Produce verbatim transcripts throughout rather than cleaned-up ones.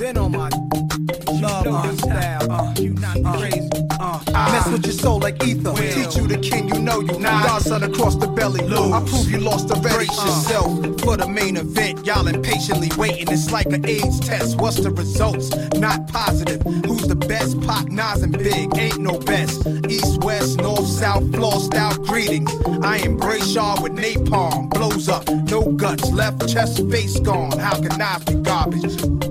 been on my love my style. Uh, you not uh, crazy. Uh, I mess with your soul like ether. Will. Teach you the king, you know you not. Godson across the belly. Lose. I prove you lost already. Brace uh. yourself for the main event. Y'all impatiently waiting. It's like an AIDS test. What's the results? Not positive. Who's the best? Pac, Nas, and Big. Ain't no best. East, west, north, south, floor style greetings. I embrace y'all with napalm. Blows up, no guts. Left chest, face gone. How can I be garbage?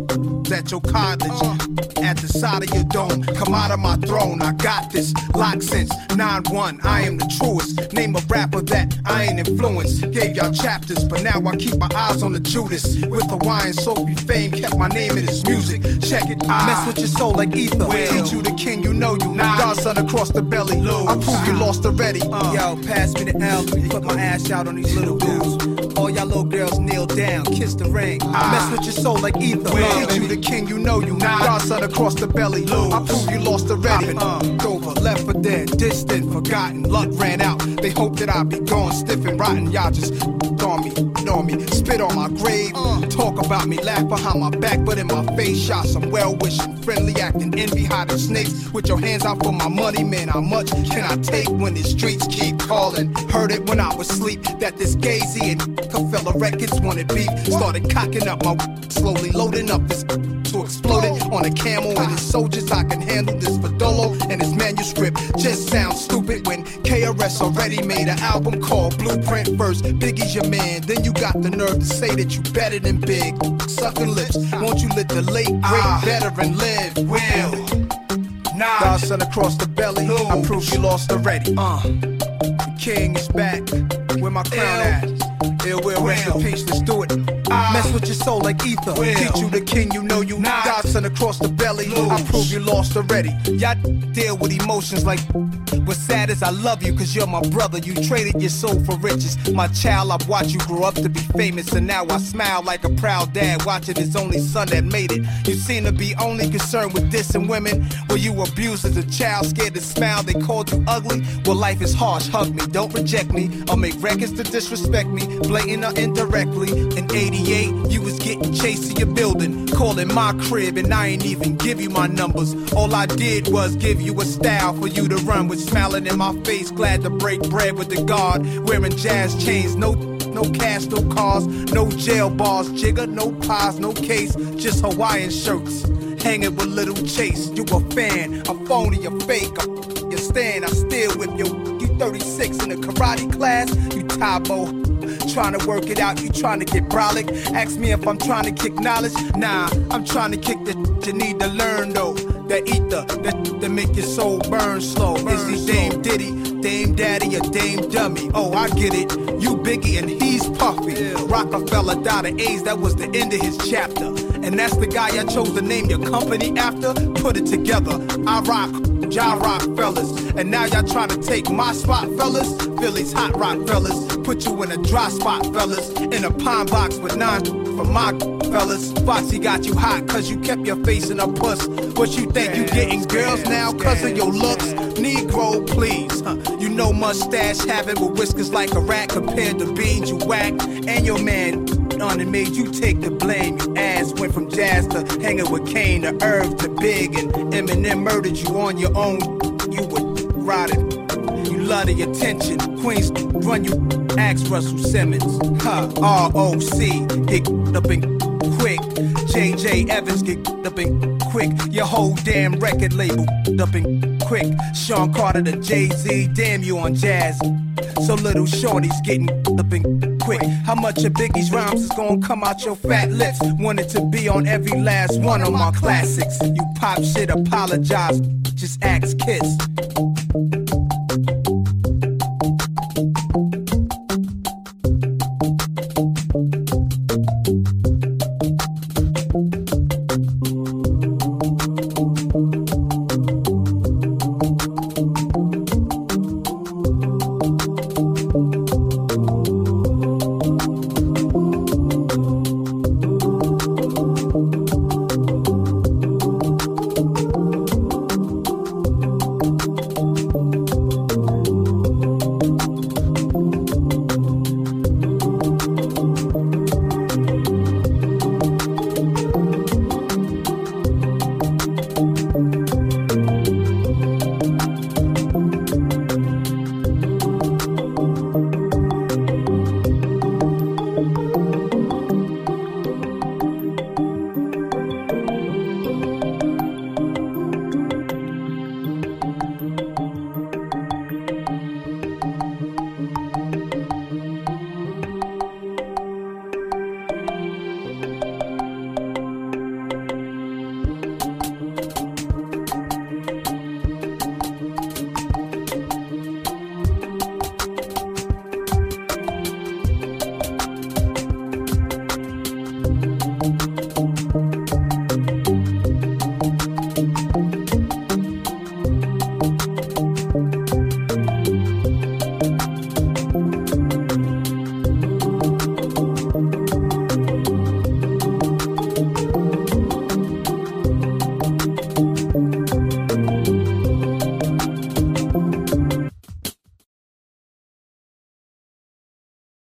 At your cottage, uh, at the side of your dome. Come out of my throne, I got this. Lock since nine one, I am the truest. Name a rapper that I ain't influenced. Gave y'all chapters, but now I keep my eyes on the Judas. With Hawaiian soapy fame, kept my name in his music. Check it, I mess with your soul like ether. Will. Teach you the king, you know you not. Godson across the belly. Lose. I prove you lost already. Uh. Yo, pass me the L, put my ass out on these little dudes. All y'all little girls kneel down, kiss the ring. I mess with your soul like ether. Will. Teach you the king, you know you not. Godson across the belly. Lose. I prove you lost already. Uh, over, left for dead, distant, forgotten. Luck ran out. They hope that I be gone, stiff and rotten. Y'all just on me, on me, spit on my grave. Uh, talk about me, laugh behind my back, but in my face, shot some well-wishing, friendly acting, envy hiding snakes. With your hands out for my money, man. How much can I take when the streets keep calling? Heard it when I was asleep that this Gazy and Cafella Records wanted beef. Started cocking up my slowly loading up this to explode it on a camel and his soldiers. I can handle this for Dolo and his manuscript. Just sounds stupid when K R S already made an album called Blueprint first. Biggie's your man, then you got the nerve to say that you better than Big. Sucking lips, won't you let the late great ah. veteran live? Will. Nah. Godson across the belly. Lose. I prove you lost already. Uh, the king is back. Where my crown at? Ill will, rest in peace, let's do it. Uh, Mess with your soul like ether. Will. Teach you the king, you know you not. Godson across the belly. Lose. I prove you lost already. Y'all deal with emotions like what's sad is I love you cause you're my brother. You traded your soul for riches. My child, I've watched you grow up to be famous. And now I smile like a proud dad watching his only son that made it. You seem to be only concerned with dissing women. Were you abused as a child, scared to smile, they called you ugly? Well, life is harsh, hug me, don't reject me. I'll make records to disrespect me, blatant or indirectly. In eighty-eight, you was getting chased to your building, calling my crib, and I ain't even give you my numbers. All I did was give you a style for you to run with, smiling in my face, glad to break bread with the guard, wearing jazz chains, no no cash, no cars, no jail bars, jigger, no pies, no case, just Hawaiian shirts, hanging with Little Chase. You a fan, a phony, a fake, a you stand, I still whip you. You thirty-six in a karate class, you Tabo. Trying to work it out, you trying to get brolic. Ask me if I'm trying to kick knowledge. Nah, I'm trying to kick the you need to learn though. That ether, that, that make your soul burn slow. Burn Is he Dame Diddy, Dame Daddy, or Dame Dummy? Oh, I get it. You Biggie and he's Puffy. Yeah. Rockefeller died of AIDS, that was the end of his chapter. And that's the guy I chose to name your company after. Put it together, I rock, y'all rock fellas. And now y'all trying to take my spot, fellas. Philly's hot rock fellas. Put you in a dry spot, fellas. In a pine box with nine for my fellas. Foxy got you hot cause you kept your face in a puss. What you think you getting girls now cause of your looks? Negro, please. Huh. You know mustache having with whiskers like a rat compared to beans you whack. And your man on it made you take the blame. Your ass went from jazz to hanging with Kane to Irv to Big, and Eminem murdered you on your own. You were rotted. You love the attention. Queens run you. Ask Russell Simmons. Huh. R O C get up and quick. J J Evans get up and quick. Your whole damn record label up and quick. Sean Carter to Jay-Z, damn you on jazz. So little shorty's getting up and quick. How much of Biggie's rhymes is gonna come out your fat lips? Wanted to be on every last one of my classics. You pop shit, apologize, just ask Kiss.